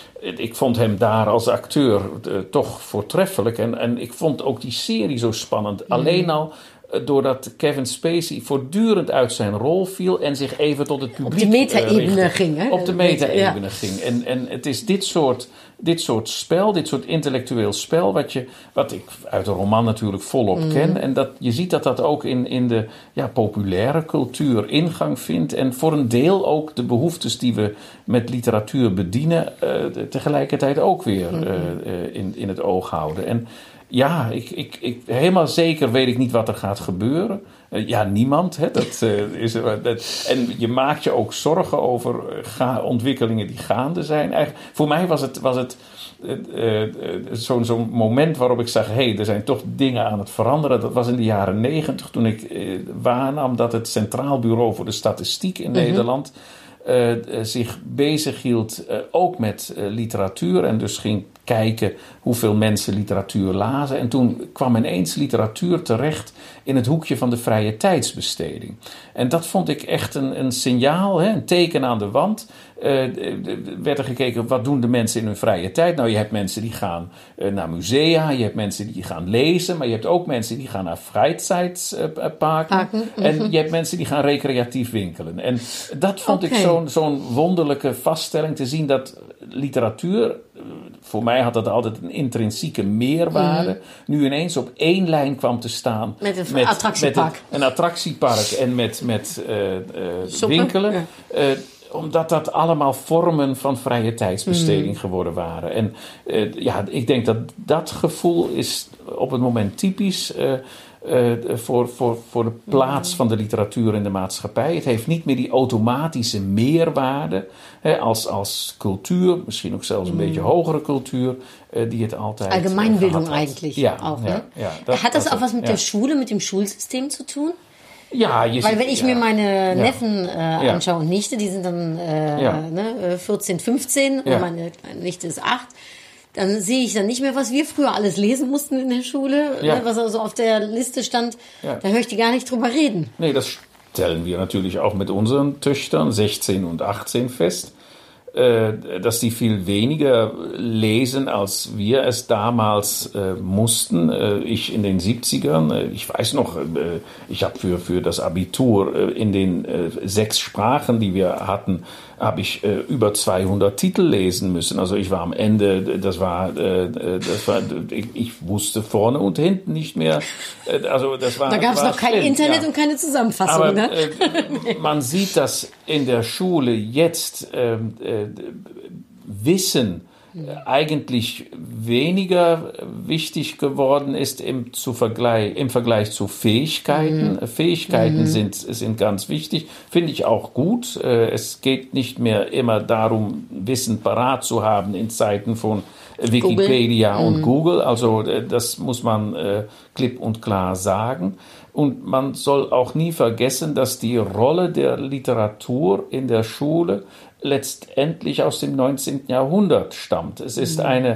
ik vond hem daar als acteur uh, toch voortreffelijk. En, en ik vond ook die serie zo spannend. Mm. Alleen al uh, doordat Kevin Spacey voortdurend uit zijn rol viel en zich even tot het publiek Op de meta-ebene uh, ging. Hè? Op de meta-ebene ja. ging. En, en het is dit soort, dit soort spel, dit soort intellectueel spel, wat, je, wat ik uit de roman natuurlijk volop mm. ken. En dat, je ziet dat dat ook in, in de ja, populaire cultuur ingang vindt. En voor een deel ook de behoeftes die we met literatuur bedienen, uh, tegelijkertijd ook weer uh, uh, in, in het oog houden. En ja, ik, ik, ik, helemaal zeker weet ik niet wat er gaat gebeuren. Uh, ja, niemand. Hè, dat, uh, is, uh, dat, en je maakt je ook zorgen over uh, ga, ontwikkelingen die gaande zijn. Eigenlijk, voor mij was het, was het uh, uh, zo'n, zo'n moment waarop ik zag, hé, hey, er zijn toch dingen aan het veranderen. Dat was in de jaren negentig toen ik uh, waarnam dat het Centraal Bureau voor de Statistiek in mm-hmm. Nederland Uh, uh, zich bezig hield uh, ook met uh, literatuur en dus ging kijken hoeveel mensen literatuur lazen. En toen kwam ineens literatuur terecht in het hoekje van de vrije tijdsbesteding. En dat vond ik echt een, een signaal, hè, een teken aan de wand. Uh, werd er gekeken, wat doen de mensen in hun vrije tijd? Nou, je hebt mensen die gaan uh, naar musea, je hebt mensen die gaan lezen, maar je hebt ook mensen die gaan naar vrijtijdsparken. Uh, mm-hmm. En je hebt mensen die gaan recreatief winkelen. En dat vond okay. ik zo'n, zo'n wonderlijke vaststelling te zien dat literatuur, voor mij had dat altijd een intrinsieke meerwaarde, mm-hmm. nu ineens op één lijn kwam te staan. Met een met, attractiepark. Met een, een attractiepark en met, met uh, uh, winkelen. Ja. Uh, omdat dat allemaal vormen van vrije tijdsbesteding mm. geworden waren. En uh, ja, ik denk dat dat gevoel is op het moment typisch uh, uh, voor, voor, voor de plaats van de literatuur in de maatschappij. Het heeft niet meer die automatische meerwaarde hè, als, als cultuur, misschien ook zelfs een mm. beetje hogere cultuur, uh, die het altijd Allgemeinbildung uh, eigentlich ja, auch. Ja, ne? ja, dat, Hat das, das auch was mit ja. der Schule, mit dem Schulsystem zu tun? Ja, je Weil wenn ich ja. mir meine ja. Neffen äh, ja. anschaue und Nichte, die sind dann äh, ja. ne, vierzehn, fünfzehn ja. und meine Nichte ist acht, dann sehe ich dann nicht mehr, was wir früher alles lesen mussten in der Schule, ja. ne, was also auf der Liste stand, ja. da höre ich die gar nicht drüber reden. Nee, das stellen wir natürlich auch mit unseren Töchtern, sechzehn und achtzehn, fest, dass die viel weniger lesen, als wir es damals äh, mussten. Äh, ich in den siebzigern, äh, ich weiß noch, äh, ich habe für, für das Abitur äh, in den äh, sechs Sprachen, die wir hatten, habe ich äh, über zweihundert Titel lesen müssen. Also ich war am Ende, das war, äh, das war ich, ich wusste vorne und hinten nicht mehr. Äh, also das war, da gab es noch kein schlimm, Internet ja. und keine Zusammenfassung. Aber, ne? äh, man sieht, dass in der Schule jetzt ähm, äh, Wissen eigentlich weniger wichtig geworden ist im, zu Vergleich, im Vergleich zu Fähigkeiten. Mhm. Fähigkeiten mhm. sind, sind ganz wichtig, finde ich auch gut. Es geht nicht mehr immer darum, Wissen parat zu haben in Zeiten von Wikipedia Google. und mhm. Google. Also das muss man äh, klipp und klar sagen. Und man soll auch nie vergessen, dass die Rolle der Literatur in der Schule letztendlich aus dem neunzehnten Jahrhundert stammt. Es ist eine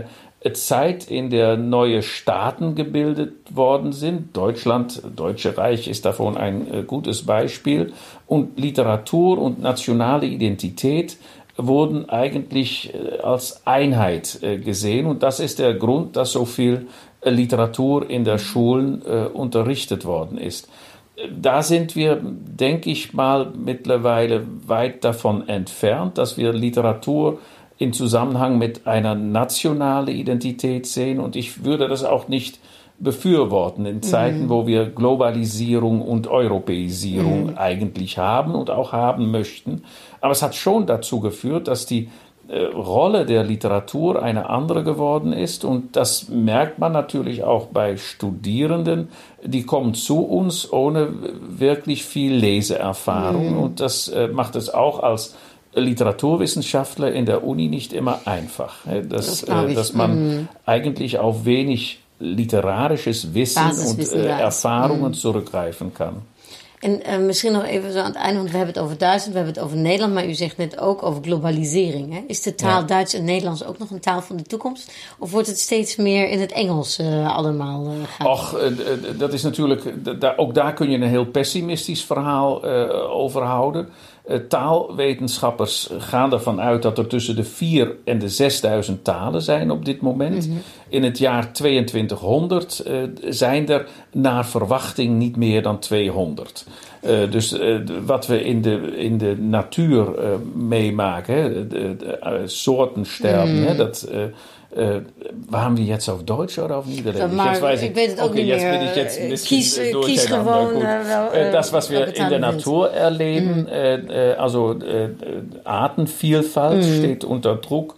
Zeit, in der neue Staaten gebildet worden sind. Deutschland, Deutsche Reich ist davon ein äh, gutes Beispiel. Und Literatur und nationale Identität wurden eigentlich äh, als Einheit äh, gesehen. Und das ist der Grund, dass so viel äh, Literatur in der Schulen äh, unterrichtet worden ist. Da sind wir, denke ich mal, mittlerweile weit davon entfernt, dass wir Literatur in Zusammenhang mit einer nationalen Identität sehen. Und ich würde das auch nicht befürworten in Zeiten, mhm. wo wir Globalisierung und Europäisierung mhm. eigentlich haben und auch haben möchten. Aber es hat schon dazu geführt, dass die äh, Rolle der Literatur eine andere geworden ist. Und das merkt man natürlich auch bei Studierenden. Die kommen zu uns ohne wirklich viel Leseerfahrung. Mhm. Und das äh, macht es auch als Literaturwissenschaftler in der Uni nicht immer einfach, dass, das dass man mm. eigentlich auf wenig literarisches Wissen Basiswissen und äh, Ervaringen mm. zurückgreifen kann. En uh, misschien nog even zo aan het einde, want we hebben het over Duitsland, we hebben het over Nederland, maar u zegt net ook over globalisering. Hè? Is de taal ja. Duits en Nederlands ook nog een taal van de toekomst? Of wordt het steeds meer in het Engels uh, allemaal uh, gaan? Och, uh, dat is natuurlijk, da, ook daar kun je een heel pessimistisch verhaal uh, over houden. Uh, taalwetenschappers gaan ervan uit dat er tussen de vier en de zesduizend talen zijn op dit moment. Mm-hmm. In het jaar tweeëntwintighonderd uh, zijn er naar verwachting niet meer dan tweehonderd. Uh, dus uh, wat we in de, in de natuur uh, meemaken, hè, de, de uh, soorten sterben, mm. hè, dat... Uh, Uh, waren wir jetzt auf Deutsch oder auf Niederländisch? Maar, jetzt weiß ich, ich weiß es auch okay, nicht mehr. Jetzt bin ich jetzt ein bisschen kies, kies gewoon, äh, das, was wir in der Natur erleben, mm. äh, also äh, Artenvielfalt mm. steht unter Druck.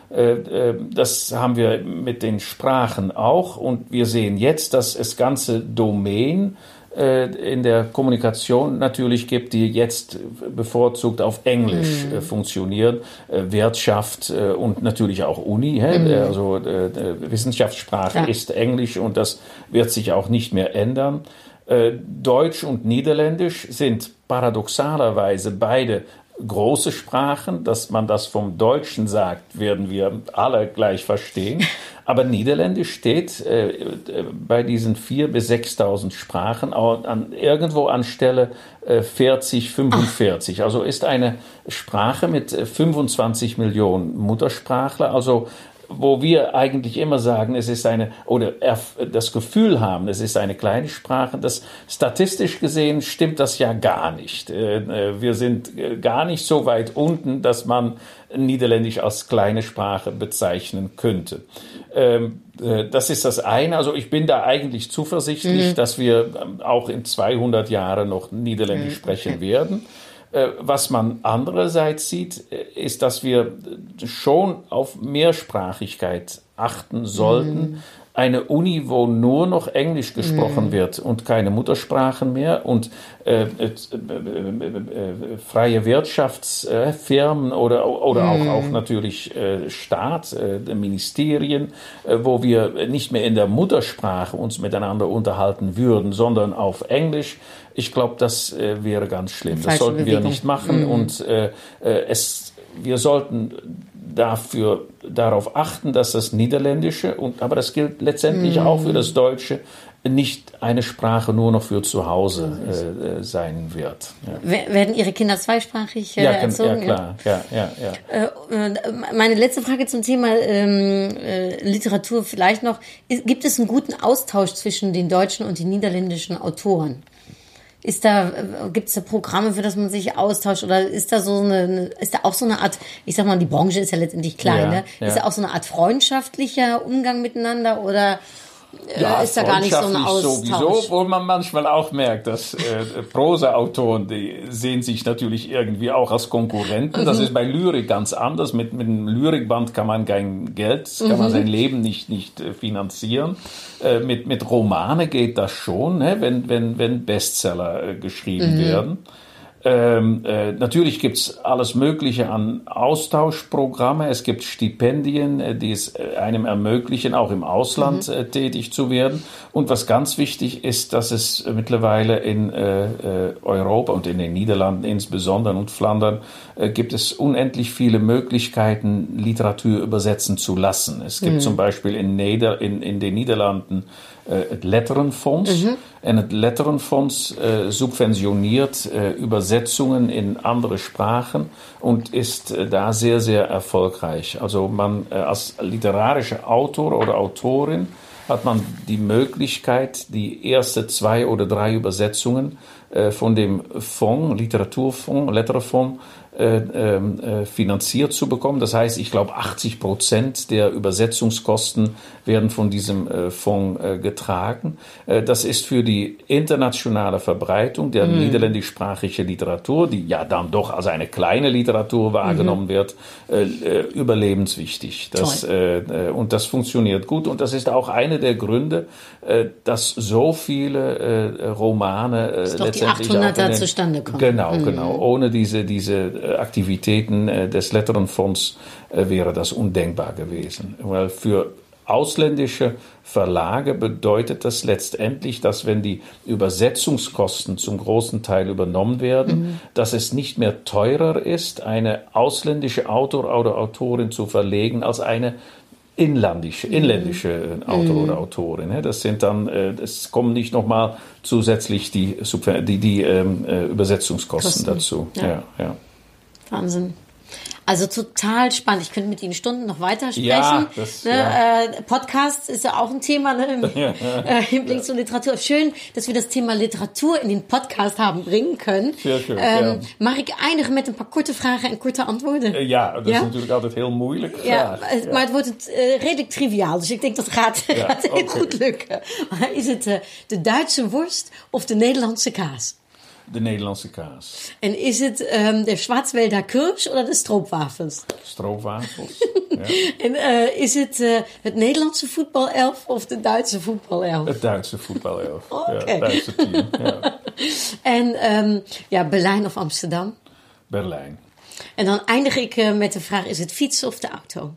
Äh, das haben wir mit den Sprachen auch. Und wir sehen jetzt, dass es ganze Domänen in der Kommunikation natürlich gibt, die jetzt bevorzugt auf Englisch mm. äh, funktionieren. Äh, Wirtschaft äh, und natürlich auch Uni. Hä? Mm. Also äh, Wissenschaftssprache ja. ist Englisch und das wird sich auch nicht mehr ändern. Äh, Deutsch und Niederländisch sind paradoxalerweise beide große Sprachen. Dass man das vom Deutschen sagt, werden wir alle gleich verstehen. Aber Niederländisch steht äh, bei diesen viertausend bis sechstausend Sprachen an, irgendwo an Stelle äh, vierzig, fünfundvierzig. Ach. Also ist eine Sprache mit fünfundzwanzig Millionen Muttersprachler. Also wo wir eigentlich immer sagen, es ist eine, oder das Gefühl haben, es ist eine kleine Sprache, das statistisch gesehen stimmt das ja gar nicht. Wir sind gar nicht so weit unten, dass man Niederländisch als kleine Sprache bezeichnen könnte. Das ist das eine. Also ich bin da eigentlich zuversichtlich, mhm. dass wir auch in zweihundert Jahren noch Niederländisch mhm. sprechen werden. Was man andererseits sieht, ist, dass wir schon auf Mehrsprachigkeit achten sollten. Mm. Eine Uni, wo nur noch Englisch gesprochen mm. wird und keine Muttersprachen mehr und äh, äh, äh, äh, freie Wirtschaftsfirmen äh, oder, oder mm. auch, auch natürlich äh, Staat, äh, Ministerien, äh, wo wir nicht mehr in der Muttersprache uns miteinander unterhalten würden, sondern auf Englisch. Ich glaube, das äh, wäre ganz schlimm. Das sollten Bewegung. wir nicht machen. Mhm. Und äh, es, wir sollten dafür, darauf achten, dass das Niederländische, und, aber das gilt letztendlich mhm. auch für das Deutsche, nicht eine Sprache nur noch für zu Hause äh, sein wird. Ja. Werden Ihre Kinder zweisprachig äh, ja, erzogen? Ja, klar. Ja, ja, ja. Äh, meine letzte Frage zum Thema ähm, äh, Literatur vielleicht noch. Ist, gibt es einen guten Austausch zwischen den deutschen und den niederländischen Autoren? Ist da, gibt es da Programme, für das man sich austauscht, oder ist da so eine, ist da auch so eine Art, ich sag mal, die Branche ist ja letztendlich klein, ja, ne? Ja. Ist da auch so eine Art freundschaftlicher Umgang miteinander, oder ja, ist da gar nicht so ein Austausch? Sowieso, obwohl man manchmal auch merkt, dass äh, Prosa-Autoren, die sehen sich natürlich irgendwie auch als Konkurrenten. Das mhm. ist bei Lyrik ganz anders. Mit, mit einem Lyrikband kann man kein Geld, kann mhm. man sein Leben nicht, nicht äh, finanzieren. Äh, mit, mit Romane geht das schon, ne? wenn, wenn, wenn Bestseller äh, geschrieben mhm. werden. Ähm, äh, natürlich gibt's alles Mögliche an Austauschprogramme. Es gibt Stipendien, äh, die es äh, einem ermöglichen, auch im Ausland mhm. äh, tätig zu werden. Und was ganz wichtig ist, dass es mittlerweile in äh, äh, Europa und in den Niederlanden insbesondere und Flandern äh, gibt es unendlich viele Möglichkeiten, Literatur übersetzen zu lassen. Es gibt mhm. zum Beispiel in, Neder- in, in den Niederlanden äh, het Letterenfonds. Mhm. En het Letterenfonds äh, subventioniert äh, Übersetzungen in andere Sprachen und ist äh, da sehr, sehr erfolgreich. Also man äh, als literarischer Autor oder Autorin hat man die Möglichkeit, die erste zwei oder drei Übersetzungen äh, von dem Fonds, Literaturfonds, Letterenfonds, äh, äh, finanziert zu bekommen. Das heißt, ich glaube, achtzig Prozent der Übersetzungskosten werden von diesem äh, Fonds äh, getragen. Äh, das ist für die internationale Verbreitung der mm. niederländischsprachigen Literatur, die ja dann doch als eine kleine Literatur wahrgenommen mm-hmm. wird, äh, überlebenswichtig. Das, äh, und das funktioniert gut. Und das ist auch einer der Gründe, äh, dass so viele äh, Romane äh, dass letztendlich die achthunderter den, zustande kommen. Genau, mm. genau. Ohne diese, diese Aktivitäten äh, des Letterenfonds äh, wäre das undenkbar gewesen. Weil für ausländische Verlage bedeutet das letztendlich, dass wenn die Übersetzungskosten zum großen Teil übernommen werden, mhm. dass es nicht mehr teurer ist, eine ausländische Autor oder Autorin zu verlegen, als eine inländische, inländische mhm. Autor oder Autorin. Das sind dann, es kommen nicht nochmal zusätzlich die, die, die ähm, Übersetzungskosten Kosten. dazu. Ja. Ja, ja. Wahnsinn. Also total spannend. Ich könnte mit Ihnen Stunden noch weitersprechen. Ja, das, ne? ja. Äh, Podcast ist ja auch ein Thema, ne? Im ja, ja. Äh, Hinblick ja. zur Literatur. Schön, dass wir das Thema Literatur in den Podcast haben bringen können. Sehr schön, ähm, ja. Mag ik eindigen met een paar korte vragen en korte antwoorden? Ja, dat ja? is natuurlijk altijd heel moeilijk. Ja, ja, maar het wordt het, uh, redelijk triviaal. Dus ik denk dat gaat, ja, gaat heel okay. goed lukken. Maar is het uh, de Duitse worst of de Nederlandse kaas? De Nederlandse kaas. En is het um, de Schwarzwälder Kirsch oder de stroopwafels? Stroopwafels, ja. En uh, is het uh, het Nederlandse voetbalelf of de Duitse voetbalelf? Het Duitse voetbalelf, okay. ja, het Duitse team. Ja. En um, ja, Berlijn of Amsterdam? Berlijn. En dan eindig ik uh, met de vraag, is het fietsen of de auto?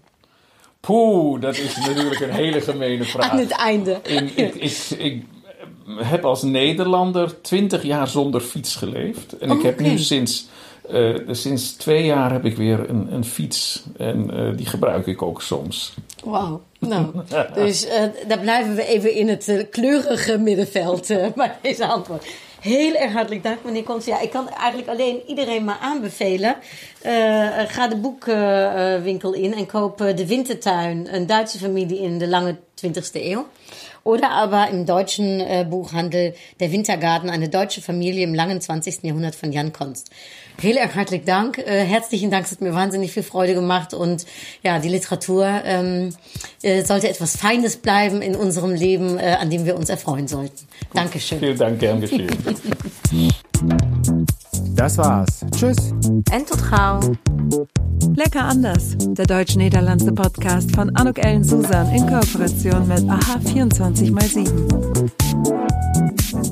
Poeh, dat is natuurlijk een hele gemene vraag. Aan het einde. In, ik, ik, ik heb als Nederlander twintig jaar zonder fiets geleefd. En oh, ik heb okay. nu sinds, uh, sinds twee jaar heb ik weer een, een fiets. En uh, die gebruik ik ook soms. Wauw. Nou, dus uh, daar blijven we even in het uh, kleurige middenveld uh, bij deze antwoord. Heel erg hartelijk dank, meneer Kons. Ja, ik kan eigenlijk alleen iedereen maar aanbevelen. Uh, ga de boekwinkel uh, in en koop uh, De Wintertuin, een Duitse familie in de lange twintigste eeuw. Oder aber im deutschen äh, Buchhandel Der Wintergarten, eine deutsche Familie im langen zwanzigsten Jahrhundert von Jan Konst. Heel erg hartelijk Dank. Äh, herzlichen Dank, es hat mir wahnsinnig viel Freude gemacht. Und ja, die Literatur ähm, äh, sollte etwas Feines bleiben in unserem Leben, äh, an dem wir uns erfreuen sollten. Gut. Dankeschön. Vielen Dank, gern geschehen. Das war's. Tschüss. En tot gauw. Lecker anders. Der deutsch-niederlandse Podcast von Anouk Ellen Susan in Kooperation mit A H vierundzwanzig mal sieben.